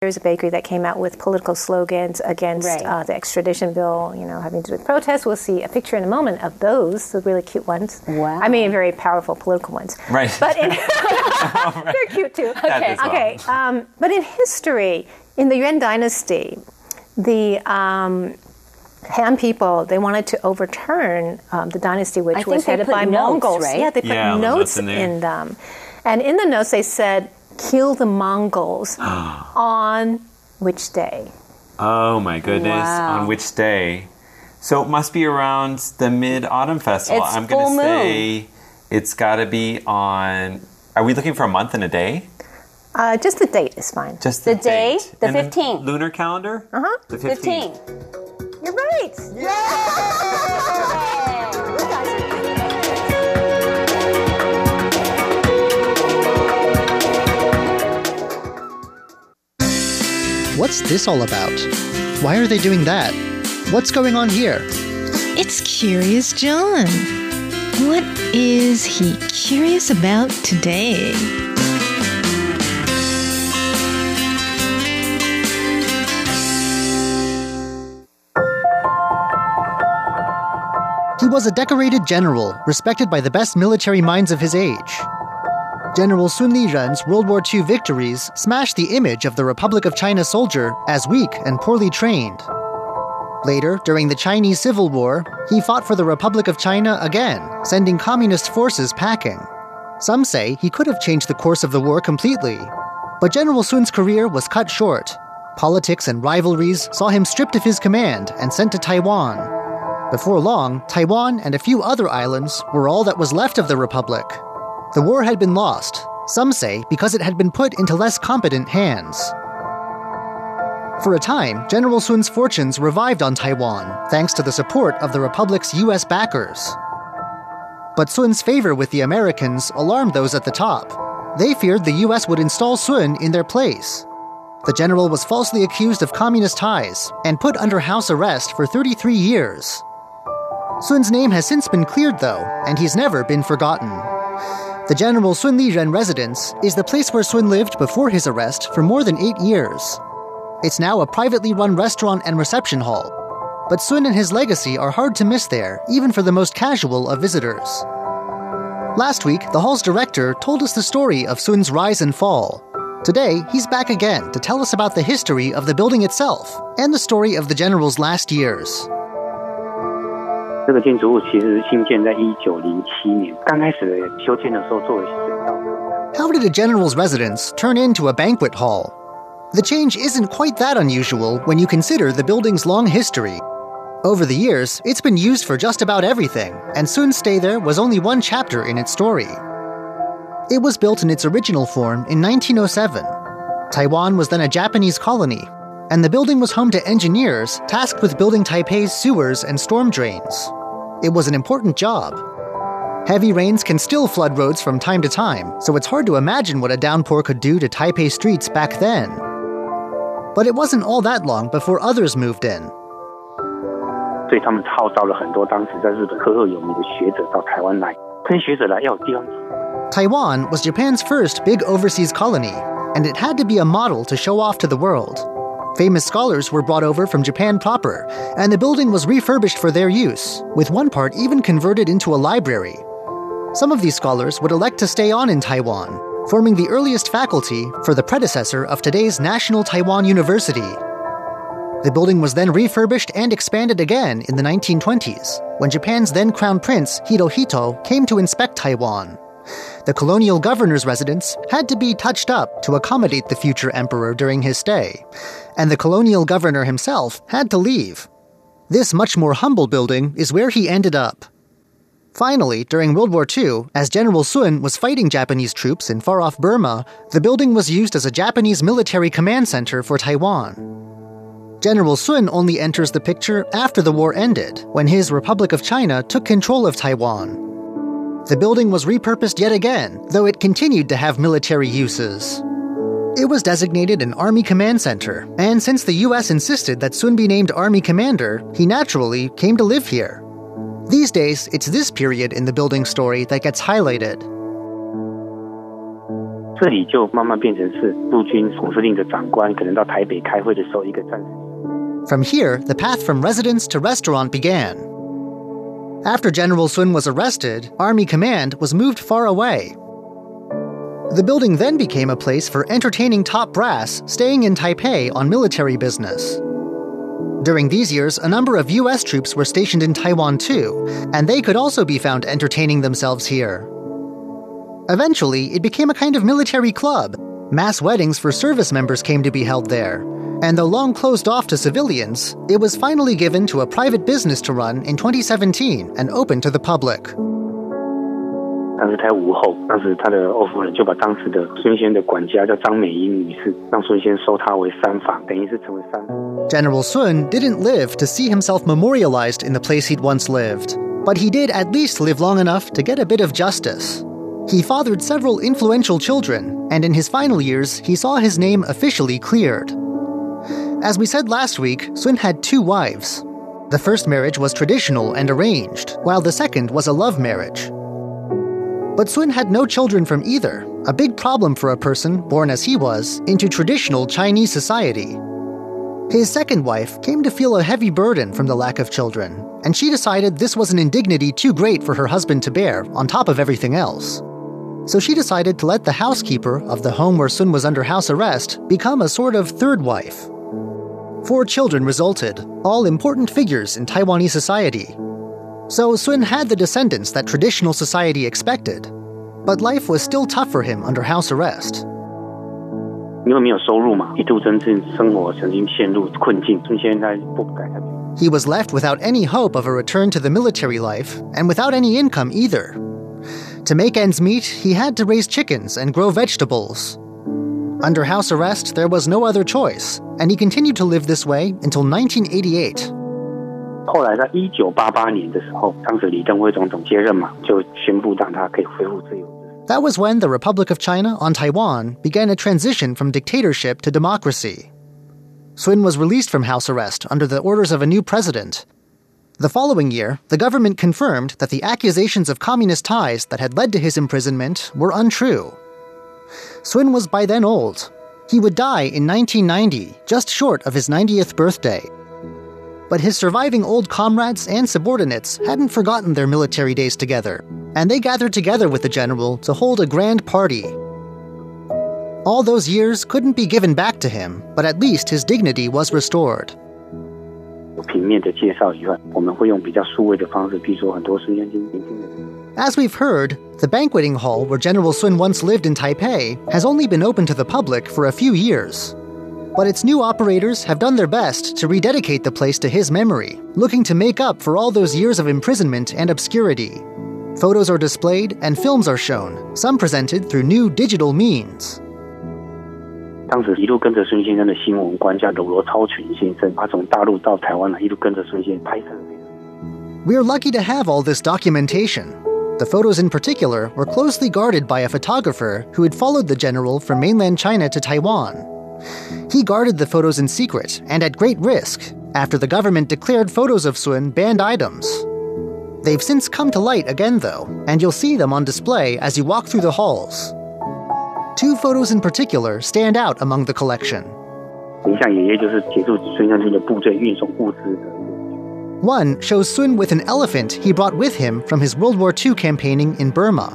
There's a bakery that came out with political slogans against the extradition bill, having to do with protests. We'll see a picture in a moment of those, the really cute ones. Wow. I mean, very powerful political ones. Right. But they're cute too. Okay. But in history, in the Yuan dynasty, the Han people, they wanted to overturn the dynasty, which was headed by Mongols. Right? Yeah, they put notes in them. And in the notes, they said, kill the Mongols on which day? Oh my goodness, on which day? So it must be around the Mid-Autumn Festival. I'm going to say it's got to be on... Are we looking for a month and a day? Just the date is fine. Just the day? Date. The and 15th. Lunar calendar? Uh-huh. The 15th. You're right. What's this all about? Why are they doing that? What's going on here? It's Curious John. What is he curious about today? He was a decorated general, respected by the best military minds of his age. General Sun Liren's World War II victories smashed the image of the Republic of China soldier as weak and poorly trained. Later, during the Chinese Civil War, he fought for the Republic of China again, sending communist forces packing. Some say he could have changed the course of the war completely. But General Sun's career was cut short. Politics and rivalries saw him stripped of his command and sent to Taiwan. Before long, Taiwan and a few other islands were all that was left of the Republic. The war had been lost, some say because it had been put into less competent hands. For a time, General Sun's fortunes revived on Taiwan, thanks to the support of the Republic's U.S. backers. But Sun's favor with the Americans alarmed those at the top. They feared the U.S. would install Sun in their place. The general was falsely accused of communist ties and put under house arrest for 33 years. Sun's name has since been cleared, though, and he's never been forgotten. The General Sun Liren residence is the place where Sun lived before his arrest for more than 8 years. It's now a privately run restaurant and reception hall. But Sun and his legacy are hard to miss there, even for the most casual of visitors. Last week, the hall's director told us the story of Sun's rise and fall. Today, he's back again to tell us about the history of the building itself and the story of the general's last years. 这个建筑物其实兴建在1907年，刚开始修建的时候作为水道。 How did a general's residence turn into a banquet hall? The change isn't quite that unusual when you consider the building's long history. Over the years, it's been used for just about everything, and Sun's stay there was only one chapter in its story. It was built in its original form in 1907. Taiwan was then a Japanese colony, and the building was home to engineers tasked with building Taipei's sewers and storm drains. It was an important job. Heavy rains can still flood roads from time to time, so it's hard to imagine what a downpour could do to Taipei streets back then. But it wasn't all that long before others moved in. 所以他们号召了很多当时在日本赫赫有名的学者到台湾来，这些学者来要有地方。 Taiwan was Japan's first big overseas colony, and it had to be a model to show off to the world. Famous scholars were brought over from Japan proper, and the building was refurbished for their use, with one part even converted into a library. Some of these scholars would elect to stay on in Taiwan, forming the earliest faculty for the predecessor of today's National Taiwan University. The building was then refurbished and expanded again in the 1920s, when Japan's then Crown Prince Hirohito came to inspect Taiwan. The colonial governor's residence had to be touched up to accommodate the future emperor during his stay, and the colonial governor himself had to leave. This much more humble building is where he ended up. Finally, during World War II, as General Sun was fighting Japanese troops in far-off Burma, the building was used as a Japanese military command center for Taiwan. General Sun only enters the picture after the war ended, when his Republic of China took control of Taiwan. The building was repurposed yet again, though it continued to have military uses. It was designated an Army Command Center, and since the U.S. insisted that Sun be named Army Commander, he naturally came to live here. These days, it's this period in the building story that gets highlighted. 这里就慢慢变成是陆军总司令的长官，可能到台北开会的时候一个战士。 From here, the path from residence to restaurant began. After General Sun was arrested, Army command was moved far away. The building then became a place for entertaining top brass staying in Taipei on military business. During these years, a number of U.S. troops were stationed in Taiwan too, and they could also be found entertaining themselves here. Eventually, it became a kind of military club. Mass weddings for service members came to be held there. And though long closed off to civilians, it was finally given to a private business to run in 2017 and open to the public. 当时在午后，当时他的欧夫人就把当时的孙先的管家叫张美英女士，让孙先收她为三房，等于是成为三房。 General Sun didn't live to see himself memorialized in the place he'd once lived, but he did at least live long enough to get a bit of justice. He fathered several influential children, and in his final years, he saw his name officially cleared. As we said last week, Sun had 2 wives. The first marriage was traditional and arranged, while the second was a love marriage. But Sun had no children from either, a big problem for a person, born as he was, into traditional Chinese society. His second wife came to feel a heavy burden from the lack of children, and she decided this was an indignity too great for her husband to bear, on top of everything else. So she decided to let the housekeeper of the home where Sun was under house arrest become a sort of third wife. 4 children resulted, all important figures in Taiwanese society. So Sun had the descendants that traditional society expected, but life was still tough for him under house arrest. 因为没有收入嘛，一度真正生活曾经陷入困境，孙先生不改他。 He was left without any hope of a return to the military life, and without any income either. To make ends meet, he had to raise chickens and grow vegetables. Under house arrest, there was no other choice, and he continued to live this way until 1988. 后来在1988年的时候，当时李登辉总统接任嘛，就宣布让他可以恢复自由。 That was when the Republic of China on Taiwan began a transition from dictatorship to democracy. Sun was released from house arrest under the orders of a new president. The following year, the government confirmed that the accusations of communist ties that had led to his imprisonment were untrue. Sun was by then old. He would die in 1990, just short of his 90th birthday. But his surviving old comrades and subordinates hadn't forgotten their military days together, and they gathered together with the general to hold a grand party. All those years couldn't be given back to him, but at least his dignity was restored. 平面的介绍以外，我们会用比较数位的方式，比如说很多孙先生年轻人。 As we've heard, the banqueting hall where General Sun once lived in Taipei has only been open to the public for a few years. But its new operators have done their best to rededicate the place to his memory, looking to make up for all those years of imprisonment and obscurity. Photos are displayed and films are shown, some presented through new digital means. 当时一路跟着孙先生的新闻官叫罗罗超群先生，他从大陆到台湾来，一路跟着孙先生拍摄。 We're lucky to have all this documentation. The photos in particular were closely guarded by a photographer who had followed the general from mainland China to Taiwan. He guarded the photos in secret and at great risk after the government declared photos of Sun banned items. They've since come to light again, though, and you'll see them on display as you walk through the halls. 2 photos in particular stand out among the collection. 影像爷爷就是协助孙将军的部队运送物资的。 One shows Sun with an elephant he brought with him from his World War II campaigning in Burma.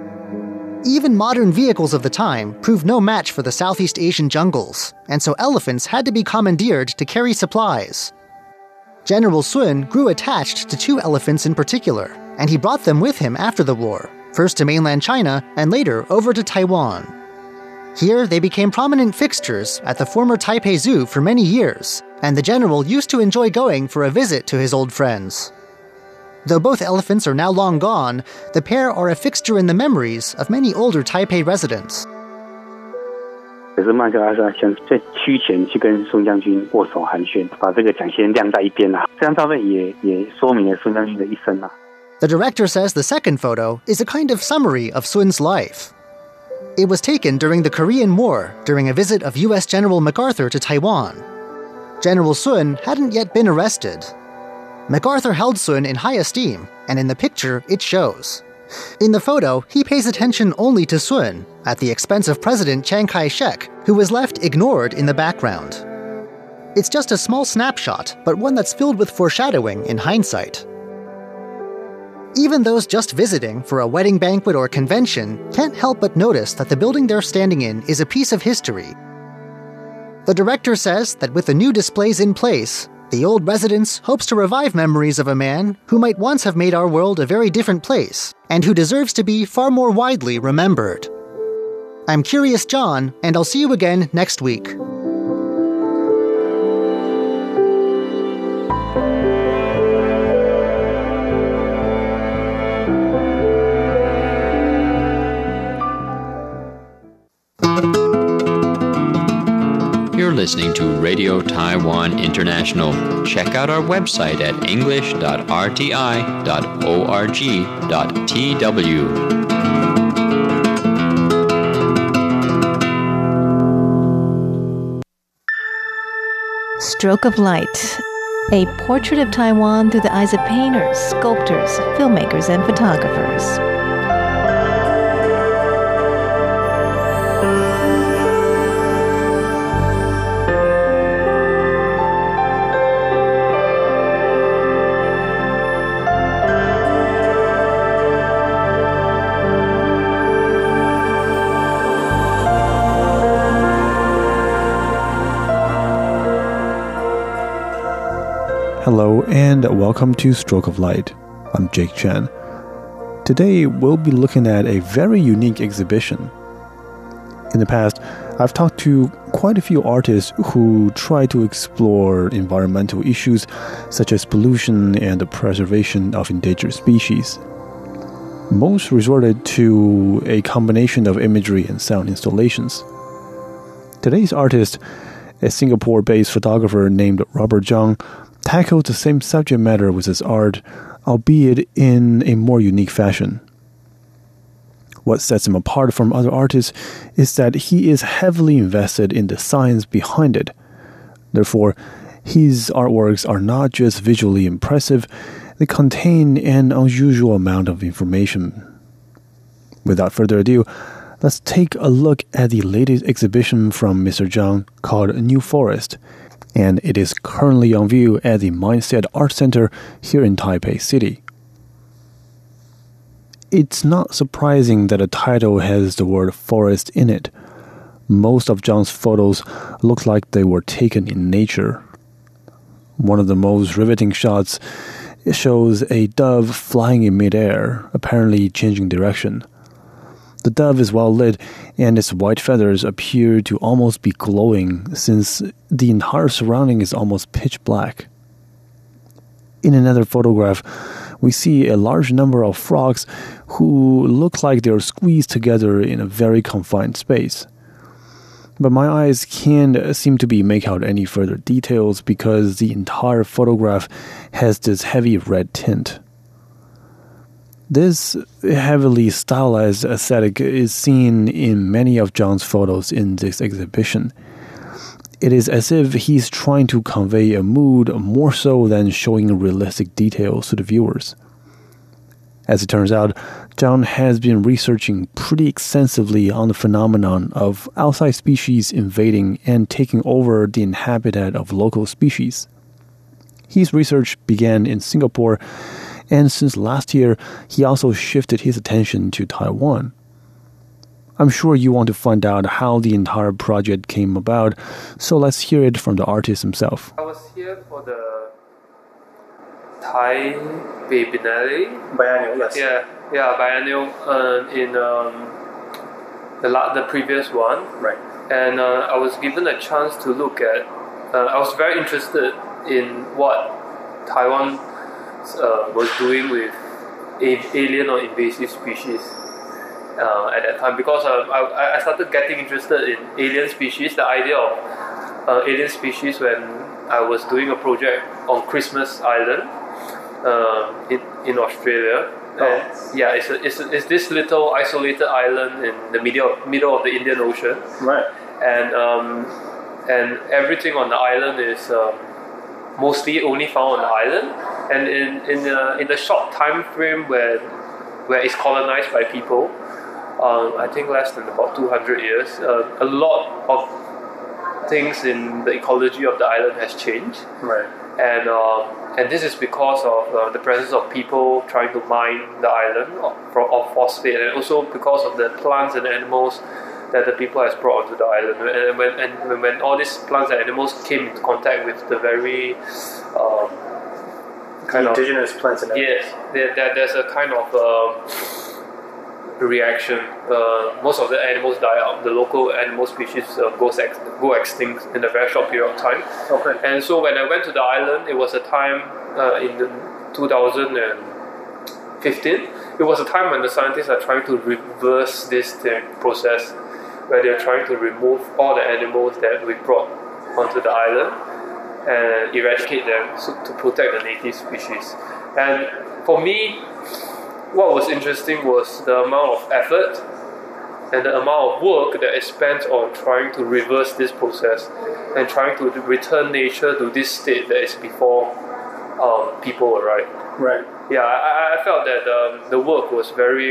Even modern vehicles of the time proved no match for the Southeast Asian jungles, and so elephants had to be commandeered to carry supplies. General Sun grew attached to 2 elephants in particular, and he brought them with him after the war, first to mainland China and later over to Taiwan. Here, they became prominent fixtures at the former Taipei Zoo for many years, and the general used to enjoy going for a visit to his old friends. Though both elephants are now long gone, the pair are a fixture in the memories of many older Taipei residents. 可是曼克阿萨想在区前去跟孙将军握手寒暄，把这个奖先晾在一边啦。这张照片也说明了孙将军的一生啦。 The director says the second photo is a kind of summary of Sun's life. It was taken during the Korean War, during a visit of U.S. General MacArthur to Taiwan. General Sun hadn't yet been arrested. MacArthur held Sun in high esteem, and in the picture it shows. In the photo, he pays attention only to Sun, at the expense of President Chiang Kai-shek, who was left ignored in the background. It's just a small snapshot, but one that's filled with foreshadowing in hindsight. Even those just visiting for a wedding banquet or convention can't help but notice that the building they're standing in is a piece of history. The director says that with the new displays in place, the old residence hopes to revive memories of a man who might once have made our world a very different place, and who deserves to be far more widely remembered. I'm Curious John, and I'll see you again next week. You're listening to Radio Taiwan International. Check out our website at english.rti.org.tw. Stroke of Light, a portrait of Taiwan through the eyes of painters, sculptors, filmmakers, and photographers. Hello and welcome to Stroke of Light. I'm Jake Chen. Today we'll be looking at a very unique exhibition. In the past, I've talked to quite a few artists who try to explore environmental issues such as pollution and the preservation of endangered species. Most resorted to a combination of imagery and sound installations. Today's artist, a Singapore-based photographer named Robert Zhang, tackled the same subject matter with his art, albeit in a more unique fashion. What sets him apart from other artists is that he is heavily invested in the science behind it. Therefore, his artworks are not just visually impressive, they contain an unusual amount of information. Without further ado, let's take a look at the latest exhibition from Mr. Zhang called New Forest, and it is currently on view at the Mindset Art Center here in Taipei City. It's not surprising that a title has the word forest in it. Most of Zhang's photos look like they were taken in nature. One of the most riveting shots shows a dove flying in midair, apparently changing direction. The dove is well lit, and its white feathers appear to almost be glowing since the entire surrounding is almost pitch black. In another photograph, we see a large number of frogs who look like they're squeezed together in a very confined space. But my eyes can't seem to make out any further details because the entire photograph has this heavy red tint. This heavily stylized aesthetic is seen in many of Zhang's photos in this exhibition. It is as if he's trying to convey a mood more so than showing realistic details to the viewers. As it turns out, Zhang has been researching pretty extensively on the phenomenon of outside species invading and taking over the habitat of local species. His research began in Singapore, and since last year, he also shifted his attention to Taiwan. I'm sure you want to find out how the entire project came about, so let's hear it from the artist himself. I was here for the Taipei Biennale. Biennial, yes. Yeah, biennial in the previous one. Right. And I was given a chance to look at. I was very interested in what Taiwan was doing with alien or invasive species at that time, because I started getting interested in alien species, the idea of alien species, when I was doing a project on Christmas Island in Australia. Yeah, it's this little isolated island in the middle of the Indian Ocean. Right. And everything on the island is mostly only found on the island. And in the short time frame where where it's colonized by people. I think less than about 200 years. A lot of things in the ecology of the island has changed. Right. And this is because of the presence of people trying to mine the island of phosphate, and also because of the plants and animals that the people has brought onto the island. And when all these plants and animals came into contact with the very indigenous plants and animals. Yes, there's a kind of reaction. Most of the animals die out. The local animal species go extinct in a very short period of time. Okay. And so when I went to the island, it was a time in 2015. It was a time when the scientists are trying to reverse this process, where they're trying to remove all the animals that we brought onto the island and eradicate them to protect the native species. And for me, what was interesting was the amount of effort and the amount of work that is spent on trying to reverse this process and trying to return nature to this state that is before people arrived. Right. Yeah, I felt that the work was very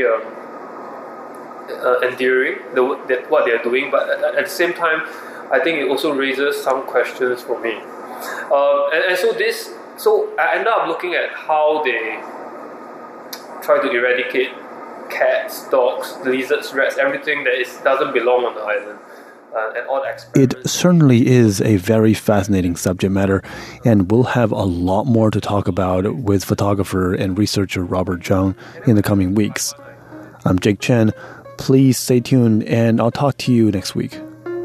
endearing, what they are doing, but at the same time, I think it also raises some questions for me. So I ended up looking at how they try to eradicate cats, dogs, lizards, rats, everything that doesn't belong on the island. And all the experiments. It certainly is a very fascinating subject matter, and we'll have a lot more to talk about with photographer and researcher Robert Zhang in the coming weeks. I'm Jake Chen. Please stay tuned, and I'll talk to you next week.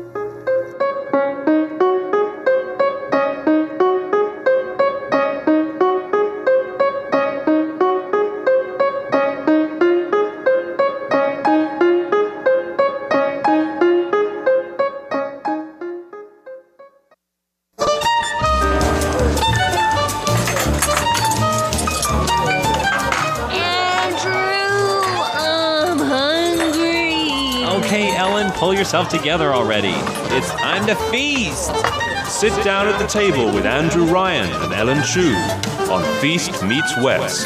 Pull yourself together already. It's time to feast. Sit down at the table with Andrew Ryan and Ellen Chu on Feast Meets West.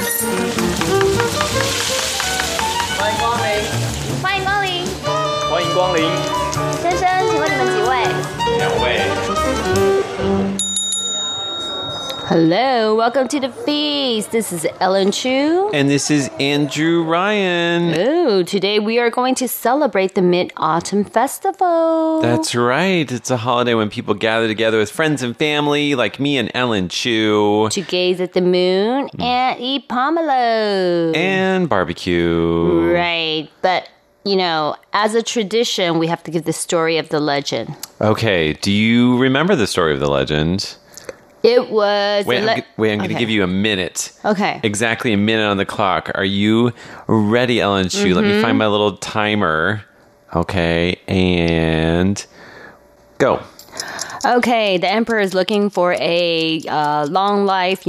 欢迎光临。欢迎光临。 欢迎光临。 先生，请问你们几位？2位。Hello, welcome to the feast. This is Ellen Chu. And this is Andrew Ryan. Oh, today we are going to celebrate the Mid-Autumn Festival. That's right. It's a holiday when people gather together with friends and family, like me and Ellen Chu. To gaze at the moon and eat pomelo. And barbecue. Right, but... You know, as a tradition, we have to give the story of the legend. Okay, do you remember the story of the legend? It was... I'm going to give you a minute. Okay. Exactly a minute on the clock. Are you ready, Ellen Chu? Let me find my little timer. Okay, and go. Okay, the emperor is looking for a long life,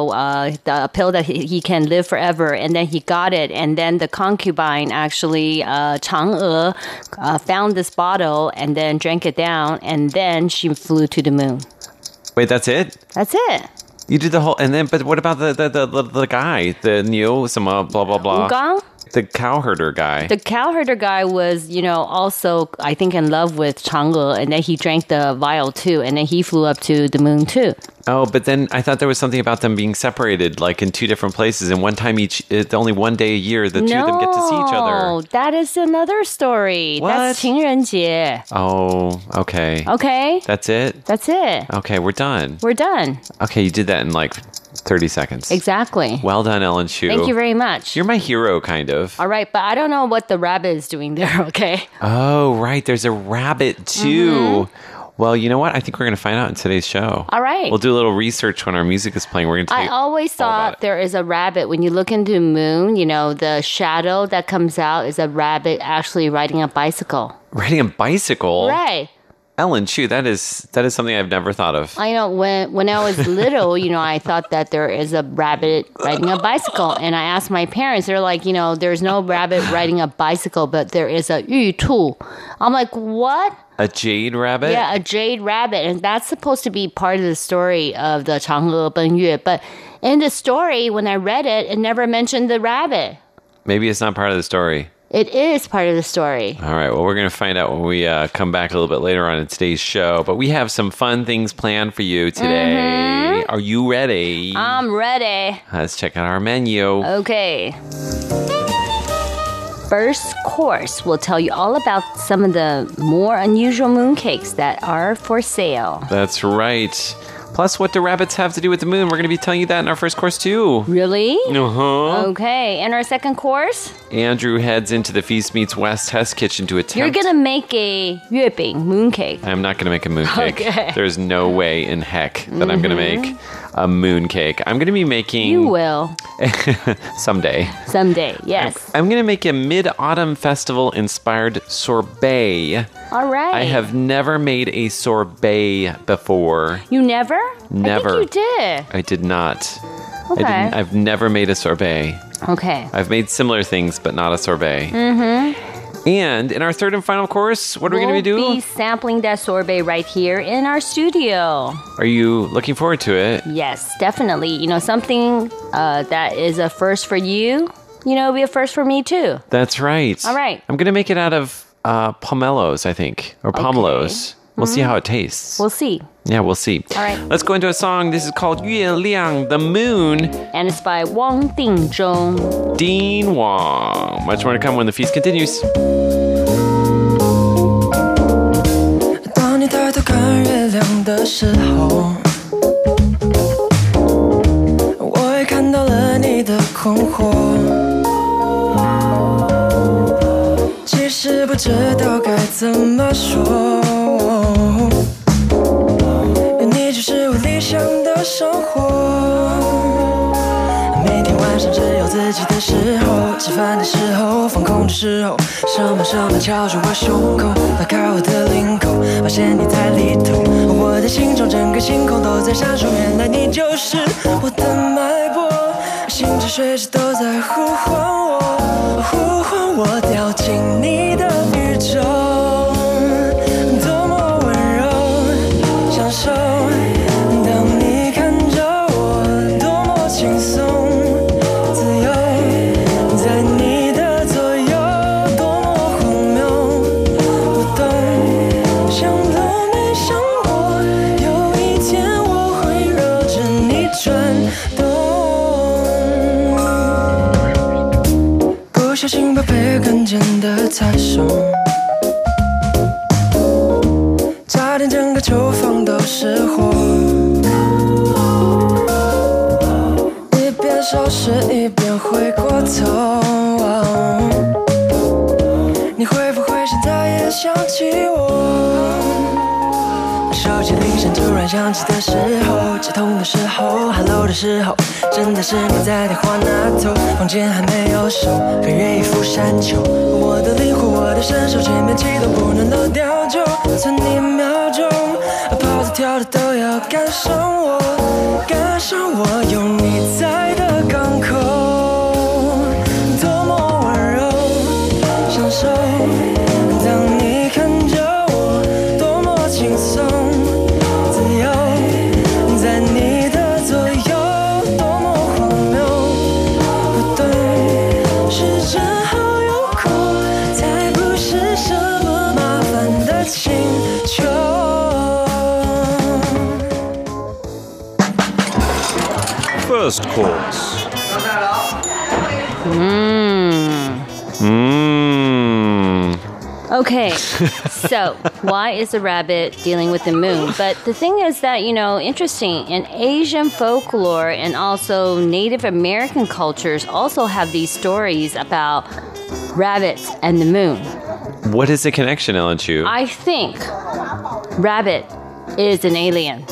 a pill that he can live forever. And then he got it. And then the concubine, actually, Chang'e, found this bottle and then drank it down. And then she flew to the moon. Wait, that's it? That's it. You did the whole... And then, but what about the guy? The Niu, some blah, blah, blah. Wugang? The cowherder guy. The cowherder guy was, also, I think, in love with Chang'e, and then he drank the vial too, and then he flew up to the moon too. Oh, but then I thought there was something about them being separated, like in two different places, and one time each, it's only one day a year, the two of them get to see each other. No, that is another story. What? That's 情人节. Oh, okay. Okay. That's it? That's it. Okay, we're done. We're done. Okay, you did that in like 30 seconds. Exactly. Well done, Ellen Chu. Thank you very much. You're my hero, kind of. All right, but I don't know what the rabbit is doing there, okay? Oh, right. There's a rabbit, too. Well, you know what? I think we're going to find out in today's show. All right. We'll do a little research when our music is playing. We're going to I always thought there is a rabbit. When you look into the moon, the shadow that comes out is a rabbit actually riding a bicycle. Riding a bicycle? Right. Ellen Chu, that is something I've never thought of. I know. When I was little, I thought that there is a rabbit riding a bicycle. And I asked my parents, they're like, there's no rabbit riding a bicycle, but there is a yu tu. I'm like, what? A jade rabbit? Yeah, a jade rabbit. And that's supposed to be part of the story of the Chang'e Ben Yue. But in the story, when I read it, it never mentioned the rabbit. Maybe it's not part of the story. It is part of the story. All right. Well, we're going to find out when we come back a little bit later on in today's show. But we have some fun things planned for you today. Are you ready? I'm ready. Let's check out our menu. Okay. First course will tell you all about some of the more unusual mooncakes that are for sale. That's right. Plus, what do rabbits have to do with the moon? We're going to be telling you that in our first course, too. Really? Uh-huh. Okay. And our second course? Andrew heads into the Feast Meets West test kitchen to attempt... You're going to make a 月饼 mooncake. I'm not going to make a mooncake. Okay. There's no way in heck that I'm going to make a mooncake. I'm going to be making... You will. Someday. Someday, yes. I'm going to make a Mid-Autumn Festival-inspired sorbet. All right. I have never made a sorbet before. You never? Never. I think you did. I did not. Okay. I've never made a sorbet. Okay. I've made similar things, but not a sorbet. Mm-hmm. And in our third and final course, what are we going to be doing? We'll be sampling that sorbet right here in our studio. Are you looking forward to it? Yes, definitely. You know, something that is a first for you, you know, it'll be a first for me too. That's right. All right. I'm going to make it out of pomelos, I think, or pomelos. We'll see how it tastes. We'll see. Yeah, we'll see. All right. Let's go into a song. This is called 月亮, the moon. And it's by Wang Dingzhong. Dean Wong. Much more to come when the feast continues. 当你抬头看月亮的时候，我也看到了你的困惑。其实不知道该怎么说，你就是我理想的生活。每天晚上只有自己的时候，吃饭的时候，放空的时候，什么敲着我胸口，打开我的领口，发现你在里头，我的心中整个星空都在闪烁，原来你就是我的脉搏，心着睡着都在呼唤我，呼唤我掉进你的宇宙，多么温柔，享受。当你看着我，多么轻松。小心把培根剪得太松，差点整个厨房都失火。一边收拾一边回过头，你会不会现在也想起我？手机铃声突然响起的时候，接通的时候 ，Hello 的时候，真的是你在电话那头，房间还没有收，飞越一幅山丘，我的灵魂，我的身手，前面启动不能漏掉就存你秒钟，跑的跳的都要赶上我，赶上我，有你在的港口，多么温柔，享受，当你看着我，多么轻松。在你的左右，多么荒谬，不对，是正好有空，才不是什么麻烦的请求。 First course. Okay, so why is the rabbit dealing with the moon? But the thing is that, you know, interesting, in Asian folklore and also Native American cultures also have these stories about rabbits and the moon. What is the connection, Ellen Chu? I think rabbit is an alien.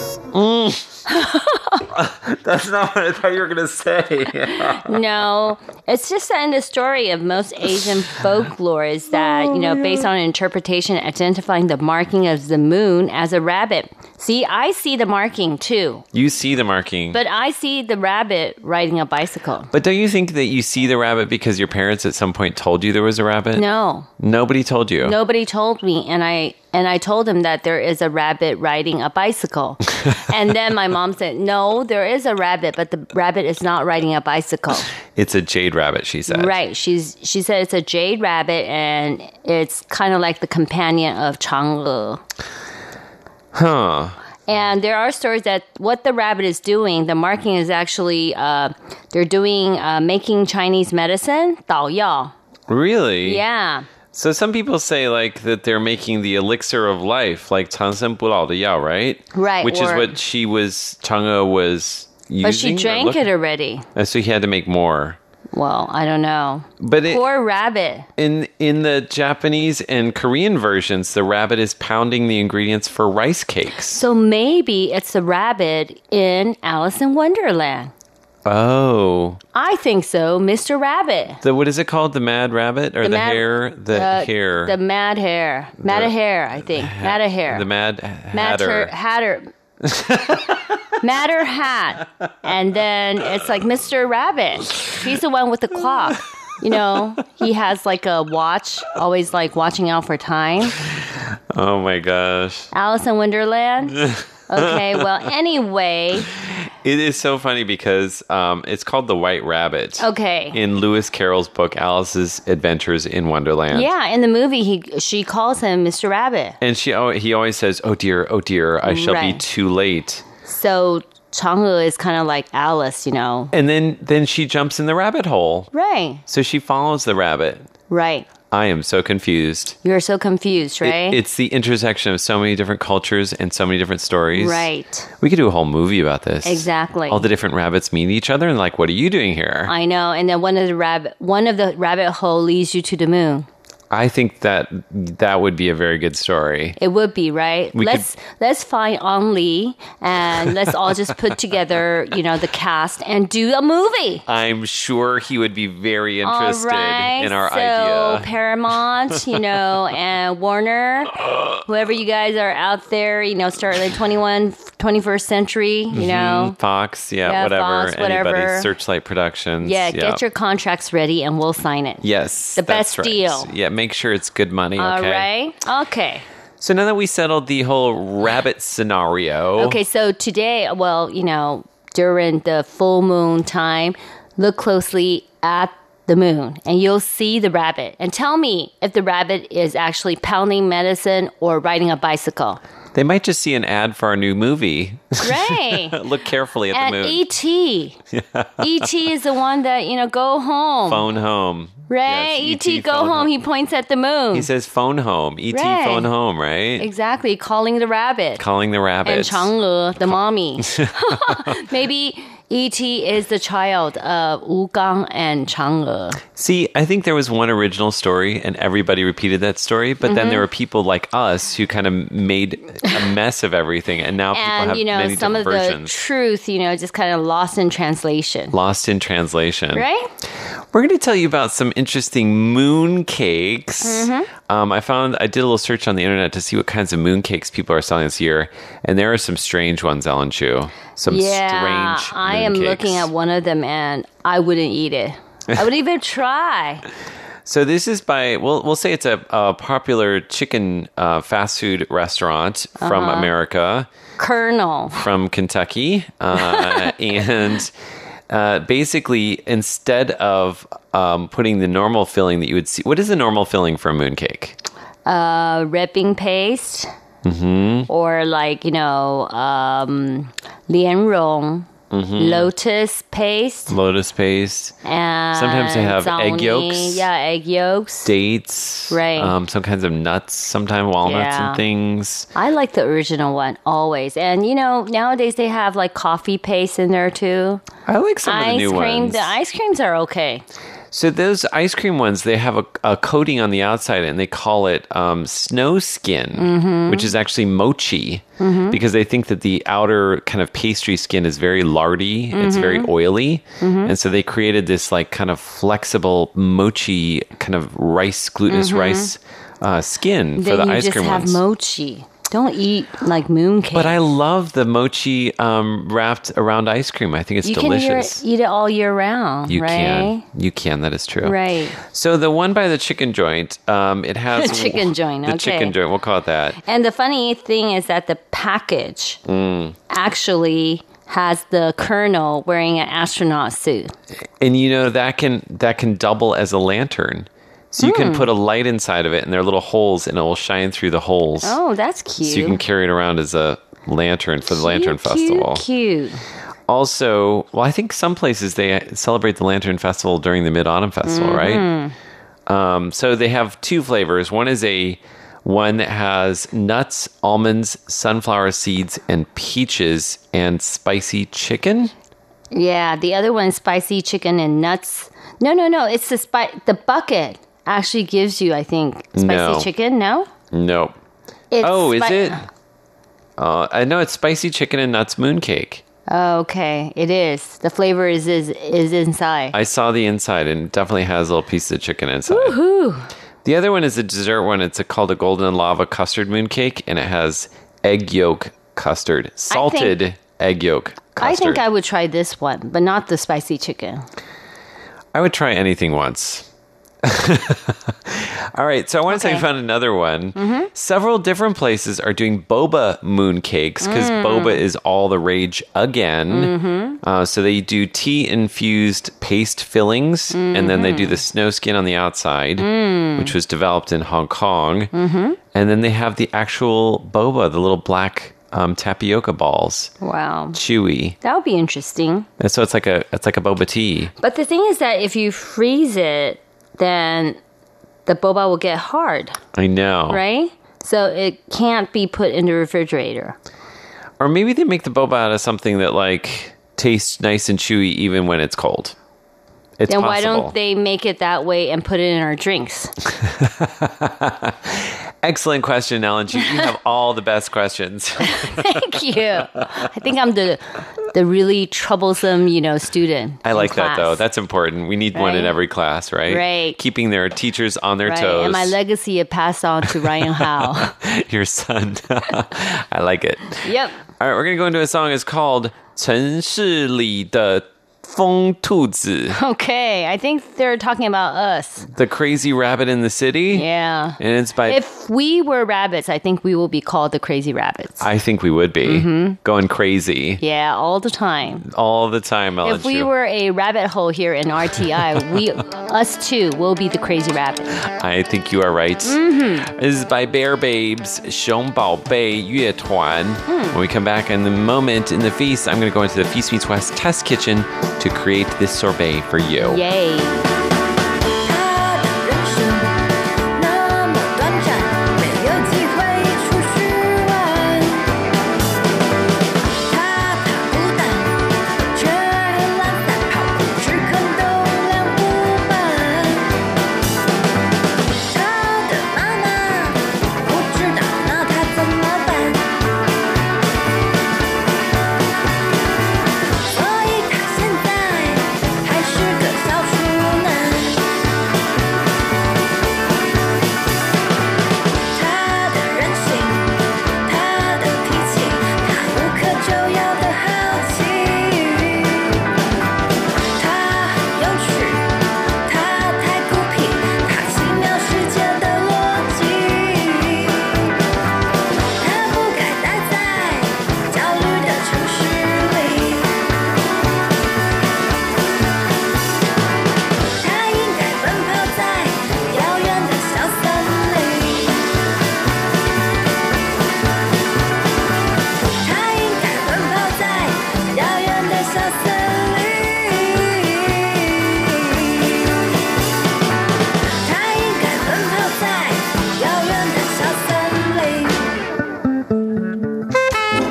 That's not what I thought you were going to say. No, it's just that in the story of most Asian folklore is that, you know, based on an interpretation identifying the marking of the moon as a rabbit. See, I see the marking too. You see the marking. But I see the rabbit riding a bicycle. But don't you think that you see the rabbit because your parents at some point told you there was a rabbit? No. Nobody told you? Nobody told me. And I told them that there is a rabbit riding a bicycle. And then my mom said, no, there is a rabbit, but the rabbit is not riding a bicycle. It's a jade rabbit, she said. Right. She said it's a jade rabbit, and it's kind of like the companion of Chang'e. Huh. And there are stories that what the rabbit is doing, the marking is actually, they're doing, making Chinese medicine, 捣药. Really? Yeah. So some people say like that they're making the elixir of life, like 长生不老的药, right? Right. Which is what Chang'e was using. But she drank it already. So he had to make more. Well, I don't know. But poor rabbit. In the Japanese and Korean versions, the rabbit is pounding the ingredients for rice cakes. So maybe it's the rabbit in Alice in Wonderland. Oh. I think so, Mr. Rabbit. What is it called? The Mad Rabbit? Or the hare? The hare. The Mad Hare. Mad Hare, I think. Mad Hare. The Mad Hatter. Hatter. Matter Hat. And then it's like Mr. Rabbit. He's the one with the clock. You know, he has like a watch, always like watching out for time. Oh my gosh. Alice in Wonderland? Okay, well, anyway. It is so funny because it's called The White Rabbit. Okay. In Lewis Carroll's book, Alice's Adventures in Wonderland. Yeah, in the movie, she calls him Mr. Rabbit. And he always says, oh dear, I shall be too late. So Chang'e is kind of like Alice, you know. And then she jumps in the rabbit hole. Right. So she follows the rabbit. Right. I am so confused. You're so confused, right? It's the intersection of so many different cultures and so many different stories. Right. We could do a whole movie about this. Exactly. All the different rabbits meet each other and like, what are you doing here? I know. And then one of the rabbit hole leads you to the moon. I think that would be a very good story. It would be, right? Let's find Ang Lee and let's all just put together, you know, the cast and do a movie. I'm sure he would be very interested in our idea. So Paramount, you know, and Warner, whoever you guys are out there, you know, start in the 21st century, you know. Fox, whatever. Fox, whatever. Anybody, Searchlight Productions. Yeah, get your contracts ready and we'll sign it. Yes. The best deal. Yeah, make sure it's good money, okay? All right. Okay. So now that we settled the whole rabbit scenario. Okay, so today, well, you know, during the full moon time, look closely at the moon and you'll see the rabbit. And tell me if the rabbit is actually pounding medicine or riding a bicycle. They might just see an ad for our new movie. Right. Look carefully at the moon. And E.T. E.T. is the one that, you know, go home. Phone home. Right? Yes, E.T. go home. He points at the moon. He says phone home. E.T. phone home, right? Exactly. Calling the rabbit. Calling the rabbit. And Chang'e, the mommy. Maybe E.T. is the child of Wu Gang and Chang'e. See, I think there was one original story and everybody repeated that story, but then there were people like us who kind of made a mess of everything, and now people have you know, many some different of versions. The truth, you know, just kind of lost in translation. Lost in translation. Right? We're going to tell you about some interesting moon cakes. I did a little search on the internet to see what kinds of moon cakes people are selling this year, and there are some strange ones, Ellen Chu. Some strange I am cakes. Looking at one of them, and I wouldn't eat it. I wouldn't even try. So this is by, we'll say it's a popular chicken fast food restaurant from America. Colonel. From Kentucky. And basically, instead of putting the normal filling that you would see, what is the normal filling for a mooncake? Ripping paste. Or like, you know, 莲蓉. Lotus paste. And sometimes they have egg yolks. Yeah, egg yolks. Dates. Right. Some kinds of nuts, sometimes walnuts and things. I like the original one, always. And, you know, nowadays they have like coffee paste in there too. I like some of the new ones. The ice creams are okay. So those ice cream ones, they have a coating on the outside, and they call it snow skin, which is actually mochi, because they think that the outer kind of pastry skin is very lardy, it's very oily, and so they created this like kind of flexible mochi kind of rice, glutinous rice skin for the ice cream ones. Then you just have mochi. Don't eat like mooncake. But I love the mochi wrapped around ice cream. I think it's delicious. You can eat it all year round, You right? You can. That is true. Right. So the one by the chicken joint, it has... chicken joint, The chicken joint, we'll call it that. And the funny thing is that the package actually has the colonel wearing an astronaut suit. And you know, that can double as a lantern. So you can put a light inside of it, and there are little holes, and it will shine through the holes. Oh, that's cute. So you can carry it around as a lantern for the Lantern Festival. Cute. Also, well, I think some places they celebrate the Lantern Festival during the Mid-Autumn Festival, right? So they have two flavors. One is one that has nuts, almonds, sunflower seeds, and peaches, and spicy chicken. Yeah, the other one is spicy chicken and nuts. No. It's the bucket actually gives you, I think, spicy chicken. No. No. Is it? I know it's spicy chicken and nuts mooncake. Oh, okay. It is. The flavor is inside. I saw the inside, and it definitely has a little piece of chicken inside. Woohoo! The other one is a dessert one. It's called a golden lava custard mooncake, and it has egg yolk custard, salted egg yolk custard. I think I would try this one, but not the spicy chicken. I would try anything once. All right, so I want to say I found another one. Several different places are doing boba mooncakes because boba is all the rage again. So they do tea-infused paste fillings, and then they do the snow skin on the outside, which was developed in Hong Kong. And then they have the actual boba, the little black tapioca balls. Wow. Chewy. That would be interesting. And so it's like a boba tea. But the thing is that if you freeze it, then the boba will get hard. I know. Right? So it can't be put in the refrigerator. Or maybe they make the boba out of something that like tastes nice and chewy even when it's cold. It's then possible. Why don't they make it that way and put it in our drinks? Excellent question, Ellen. You have all the best questions. Thank you. I think I'm the really troublesome, student. I like that, though. That's important. We need one in every class, right? Right. Keeping their teachers on their toes. And my legacy is passed on to Ryan Howe. Your son. I like it. Yep. All right, we're going to go into a song. It's called 城市里的疯兔子. Okay, I think they're talking about us. The crazy rabbit in the city? Yeah. And it's by... If we were rabbits, I think we will be called the crazy rabbits. I think we would be. Going crazy. Yeah, all the time. All the time, Ellen. If we were a rabbit hole here in RTI, us too will be the crazy rabbit. I think you are right. This is by Bear Babes, 熊宝贝乐团. When we come back in the moment in the feast, I'm going to go into the Feast Meets West test kitchen to create this sorbet for you. Yay.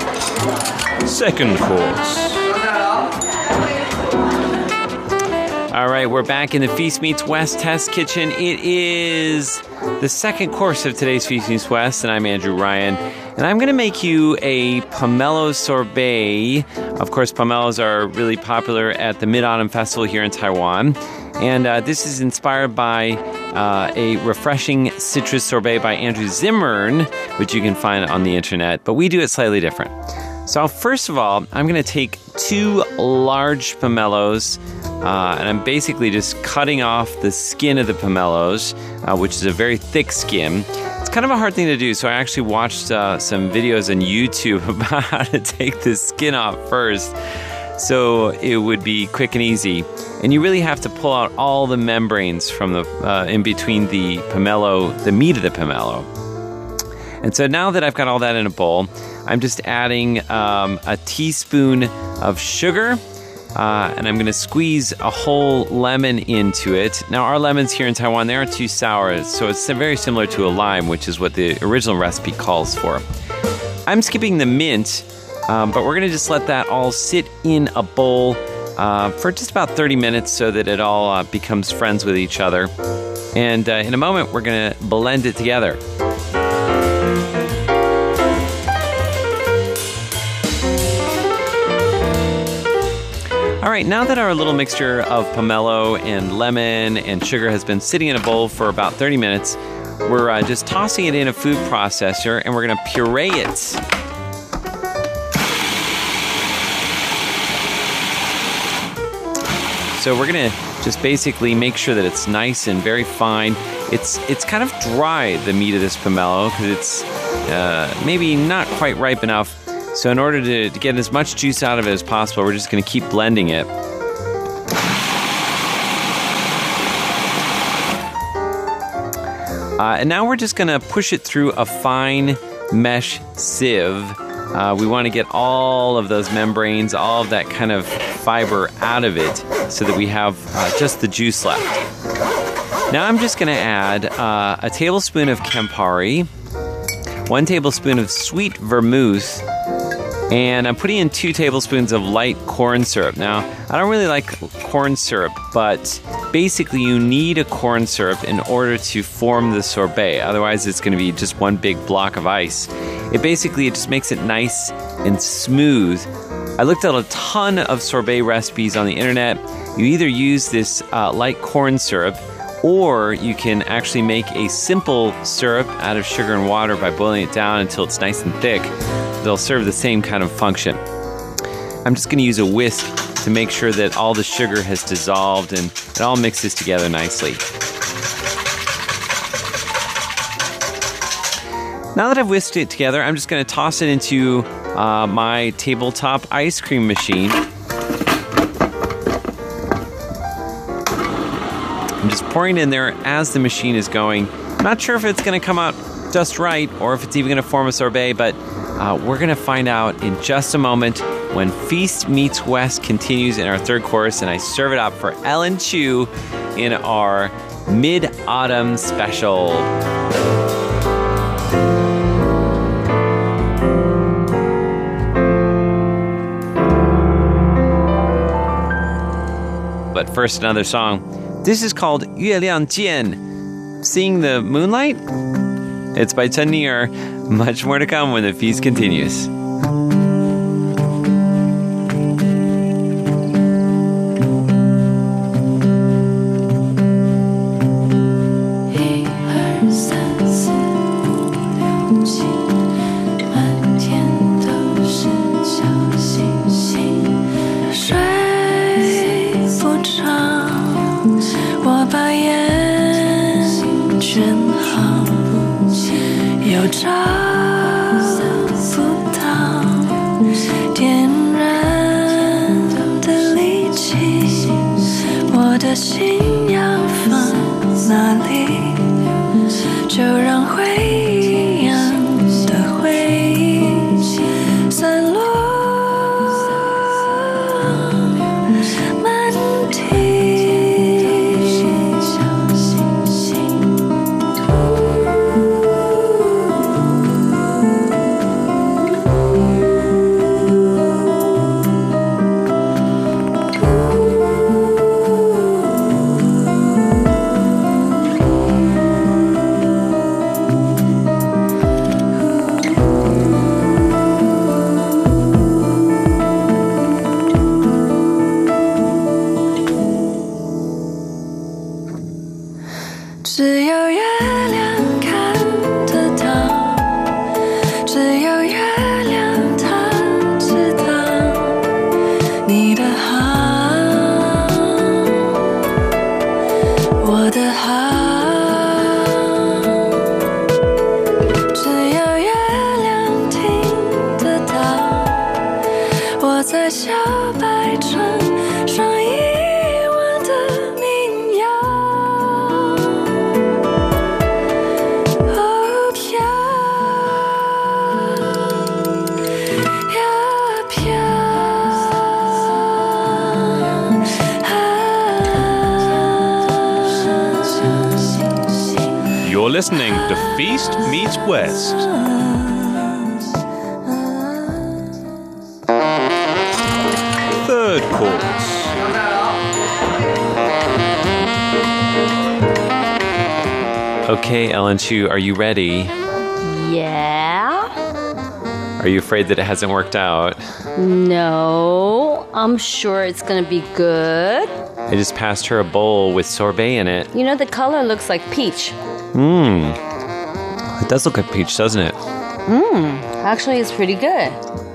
Second course. All right, we're back in the Feast Meets West test kitchen. It is the second course of today's Feast Meets West, and I'm Andrew Ryan. And I'm going to make you a pomelo sorbet. Of course, pomelos are really popular at the Mid-Autumn Festival here in Taiwan. And this is inspired by a refreshing citrus sorbet by Andrew Zimmern, which you can find on the internet. But we do it slightly different. So first of all, I'm going to take 2 large pomelos, and I'm basically just cutting off the skin of the pomelos, which is a very thick skin. It's kind of a hard thing to do, so I actually watched some videos on YouTube about how to take the skin off first, so it would be quick and easy. And you really have to pull out all the membranes from the in between the pomelo, the meat of the pomelo. And so now that I've got all that in a bowl, I'm just adding a teaspoon of sugar, and I'm going to squeeze a whole lemon into it. Now, our lemons here in Taiwan, they aren't too sour, so it's very similar to a lime, which is what the original recipe calls for. I'm skipping the mint, but we're going to just let that all sit in a bowl for just about 30 minutes so that it all becomes friends with each other. And in a moment, we're going to blend it together. All right, now that our little mixture of pomelo and lemon and sugar has been sitting in a bowl for about 30 minutes, we're just tossing it in a food processor and we're going to puree it. So we're going to just basically make sure that it's nice and very fine. It's kind of dry, the meat of this pomelo, because it's maybe not quite ripe enough. So in order to get as much juice out of it as possible, we're just going to keep blending it. And now we're just going to push it through a fine mesh sieve. We want to get all of those membranes, all of that kind of fiber out of it so that we have just the juice left. Now I'm just going to add a tablespoon of Campari, 1 tablespoon of sweet vermouth, and I'm putting in 2 tablespoons of light corn syrup. Now, I don't really like corn syrup, but basically you need a corn syrup in order to form the sorbet. Otherwise, it's going to be just one big block of ice. It just makes it nice and smooth. I looked at a ton of sorbet recipes on the internet. You either use this light corn syrup, or you can actually make a simple syrup out of sugar and water by boiling it down until it's nice and thick. They'll serve the same kind of function. I'm just going to use a whisk to make sure that all the sugar has dissolved and it all mixes together nicely. Now that I've whisked it together, I'm just going to toss it into my tabletop ice cream machine. I'm just pouring it in there as the machine is going. I'm not sure if it's going to come out just right or if it's even going to form a sorbet, but we're going to find out in just a moment when Feast Meets West continues in our third course, and I serve it up for Ellen Chu in our Mid-Autumn Special. But first, another song. This is called 月亮见, Seeing the Moonlight. It's by Chen Nier. Much more to come when the feast continues. 找不到的小白船，双亿万的民谣。哦，飘呀飘。 You're listening to Feast Meets West. Third course. Okay, Ellen Chu, are you ready? Yeah? Are you afraid that it hasn't worked out? No, I'm sure it's gonna be good. I just passed her a bowl with sorbet in it. You know, the color looks like peach. It does look like peach, doesn't it? Actually, it's pretty good.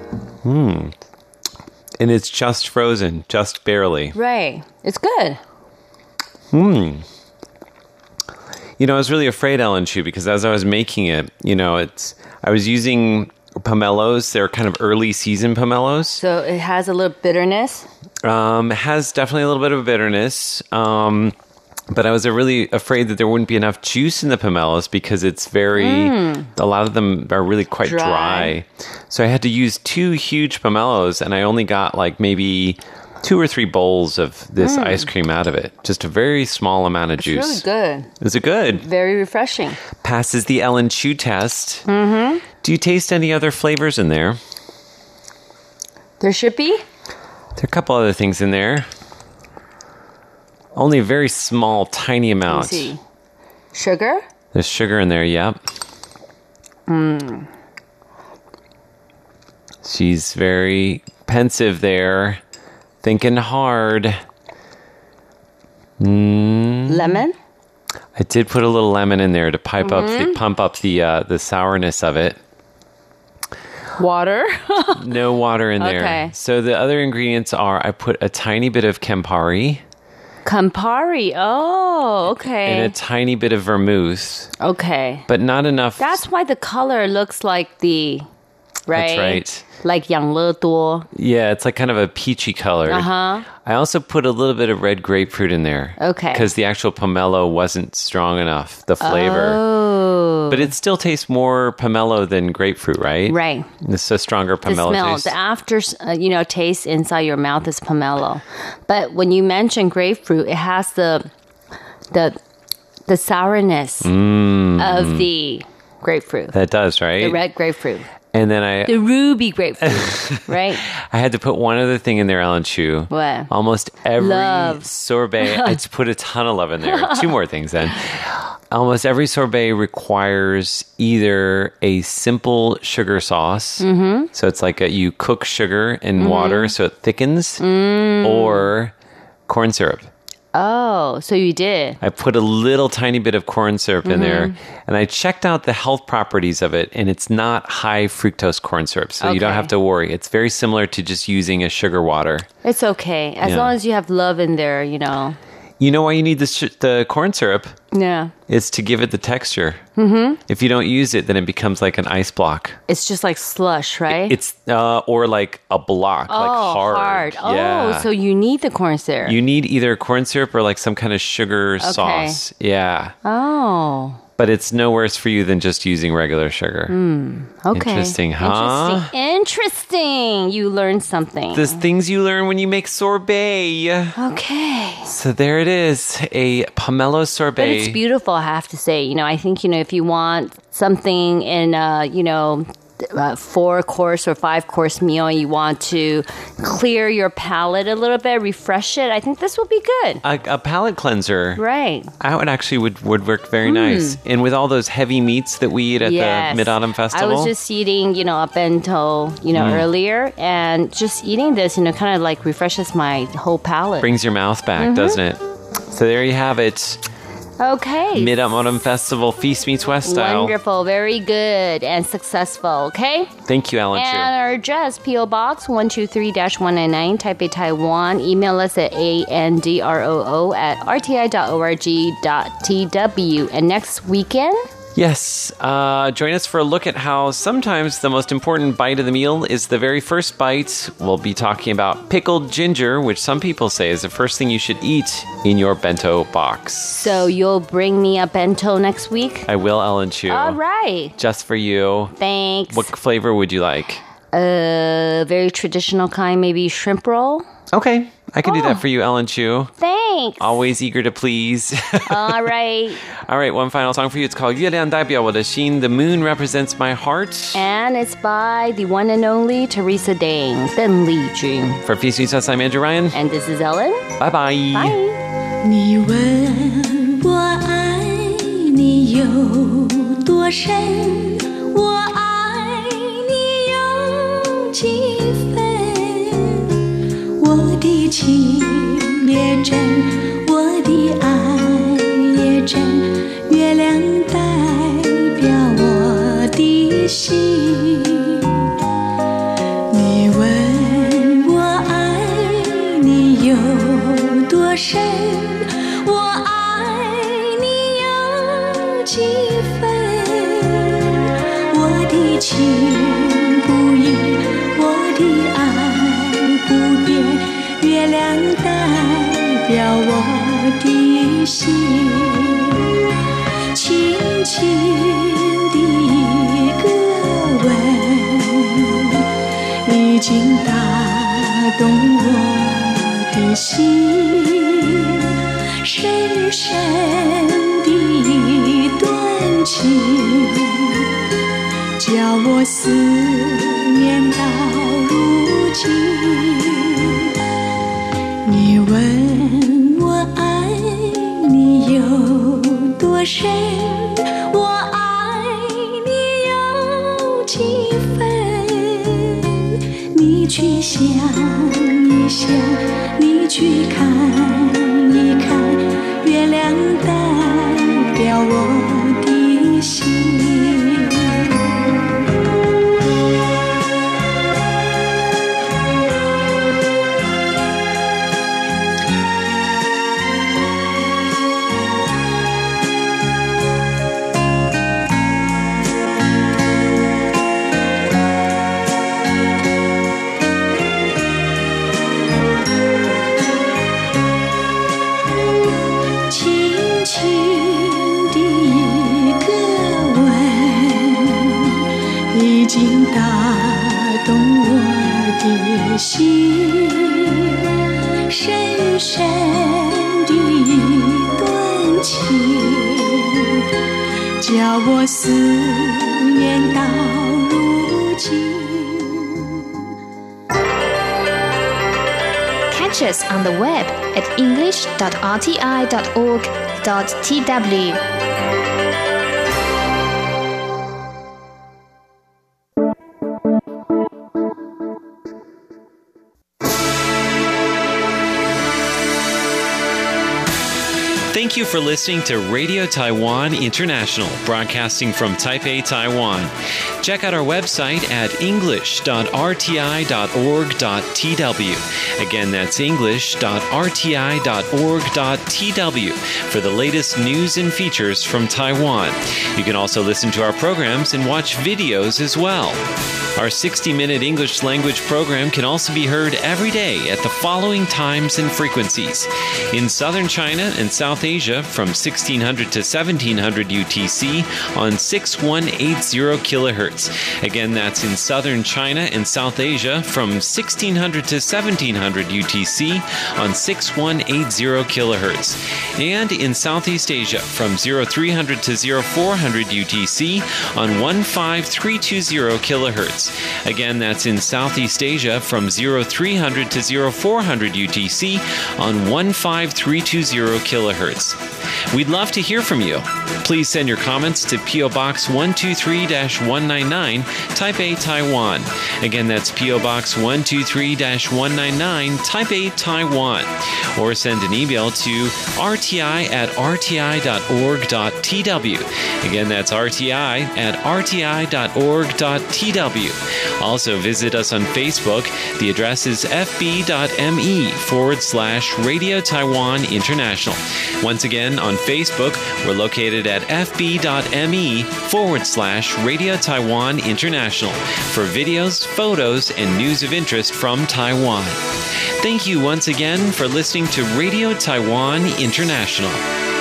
And it's just frozen, just barely. Right. It's good. You know, I was really afraid, Ellen Chu, because as I was making it, you know, I was using pomelos. They're kind of early season pomelos. So it has a little bitterness. It has definitely a little bit of bitterness. But I was really afraid that there wouldn't be enough juice in the pomelos because it's a lot of them are really quite dry. So I had to use 2 huge pomelos, and I only got like maybe 2 or 3 bowls of this ice cream out of it. Just a very small amount of juice. It's really good. Is it good? Very refreshing. Passes the Ellen Chu test. Do you taste any other flavors in there? There should be. There are a couple other things in there. Only a very small, tiny amount. Let's see. Sugar? There's sugar in there, yep. She's very pensive there. Thinking hard. Lemon? I did put a little lemon in there to pump up the sourness of it. Water? No water in there. Okay. So the other ingredients are I put a tiny bit of Campari. Campari. Oh, okay. And a tiny bit of vermouth. Okay. But not enough. That's why the color looks like right? That's right. Like 养乐多. Yeah, it's like kind of a peachy color. I also put a little bit of red grapefruit in there. Okay. Because the actual pomelo wasn't strong enough, the flavor. Oh. But it still tastes more pomelo than grapefruit, right? Right. It's a stronger pomelo the smell, taste. the after, taste inside your mouth is pomelo. But when you mention grapefruit, it has the sourness of the grapefruit. That does, right? The red grapefruit. And then the ruby grapefruit, right? I had to put one other thing in there, Ellen Chu. What? Almost every love. sorbet, I just put a ton of love in there. 2 more things then. Almost every sorbet requires either a simple sugar sauce, so it's like you cook sugar in water so it thickens, or corn syrup. Oh, so you did. I put a little tiny bit of corn syrup in there, and I checked out the health properties of it, and it's not high fructose corn syrup, so you don't have to worry. It's very similar to just using a sugar water. It's okay. As long as you have love in there, you know. You know why you need the corn syrup? Yeah. It's to give it the texture. If you don't use it, then it becomes like an ice block. It's just like slush, right? It's or like a block, like hard. Oh, so you need the corn syrup. You need either corn syrup or like some kind of sugar sauce. Yeah. Oh. But it's no worse for you than just using regular sugar. Okay. Interesting, huh? Interesting. You learned something. The things you learn when you make sorbet. Okay. So there it is, a pomelo sorbet. But it's beautiful, I have to say. You know, I think, if you want something in, 4-course or 5-course meal, you want to clear your palate a little bit, refresh it, I think this will be good. A palate cleanser. Right. I would actually would work very nice. And with all those heavy meats that we eat at the Mid-Autumn Festival. I was just eating, a bento, earlier, and just eating this, kind of like refreshes my whole palate. Brings your mouth back, doesn't it? So there you have it. Okay. Mid-Autumn Festival Feast Meets West style. Wonderful. Very good and successful. Okay? Thank you, Ellen Chu. And our address, P.O. Box 123-199, Taipei, Taiwan. Email us at androo@rti.org.tw. And next weekend, Yes. Join us for a look at how sometimes the most important bite of the meal is the very first bite. We'll be talking about pickled ginger, which some people say is the first thing you should eat in your bento box. So you'll bring me a bento next week? I will, Ellen Chu. All right. Just for you. Thanks. What flavor would you like? Very traditional kind, maybe shrimp roll. Okay. I can do that for you, Ellen Chu. Thanks. Always eager to please. All right. All right, one final song for you. It's called 月亮代表我的心. The moon represents my heart. And it's by the one and only Teresa Deng, Deng Lijun. For Feast News, I'm Andrew Ryan. And this is Ellen. Bye-bye. Bye. 你问我爱你有多深，我爱你有几分，我的情也真，我的爱也真，月亮代表我的心。你问我爱你有多深，我爱你有几分，我的情不移，我的爱不变，月亮代表我的心，轻轻的一个吻，已经打动我的心，深深的一段情，叫我思念到如今。你问我爱你有多深，我爱你有几分，你去想一想，你去看一看，月亮代表我的心。已经打动我的心，深深的一段情，叫我思念到如今。 Catch us on the web at english.rti.org.tw. Thank you for listening to Radio Taiwan International, broadcasting from Taipei, Taiwan. Check out our website at english.rti.org.tw. Again, that's english.rti.org.tw for the latest news and features from Taiwan. You can also listen to our programs and watch videos as well. Our 60-minute English language program can also be heard every day at the following times and frequencies. In southern China and South Asia from 1600 to 1700 UTC on 6180 kilohertz. Again, that's in southern China and South Asia from 1600 to 1700 UTC on 6180 kilohertz. And in Southeast Asia from 0300 to 0400 UTC on 15320 kilohertz. Again, that's in Southeast Asia from 0300 to 0400 UTC on 15320 kilohertz. We'd love to hear from you. Please send your comments to P.O. Box 123-199, Taipei, Taiwan. Again, that's P.O. Box 123-199, Taipei, Taiwan. Or send an email to rti@rti.org.tw. Again, that's rti@rti.org.tw. Also, visit us on Facebook. The address is fb.me/Radio Taiwan International. Once again, on Facebook, we're located at fb.me/Radio Taiwan International for videos, photos, and news of interest from Taiwan. Thank you once again for listening to Radio Taiwan International.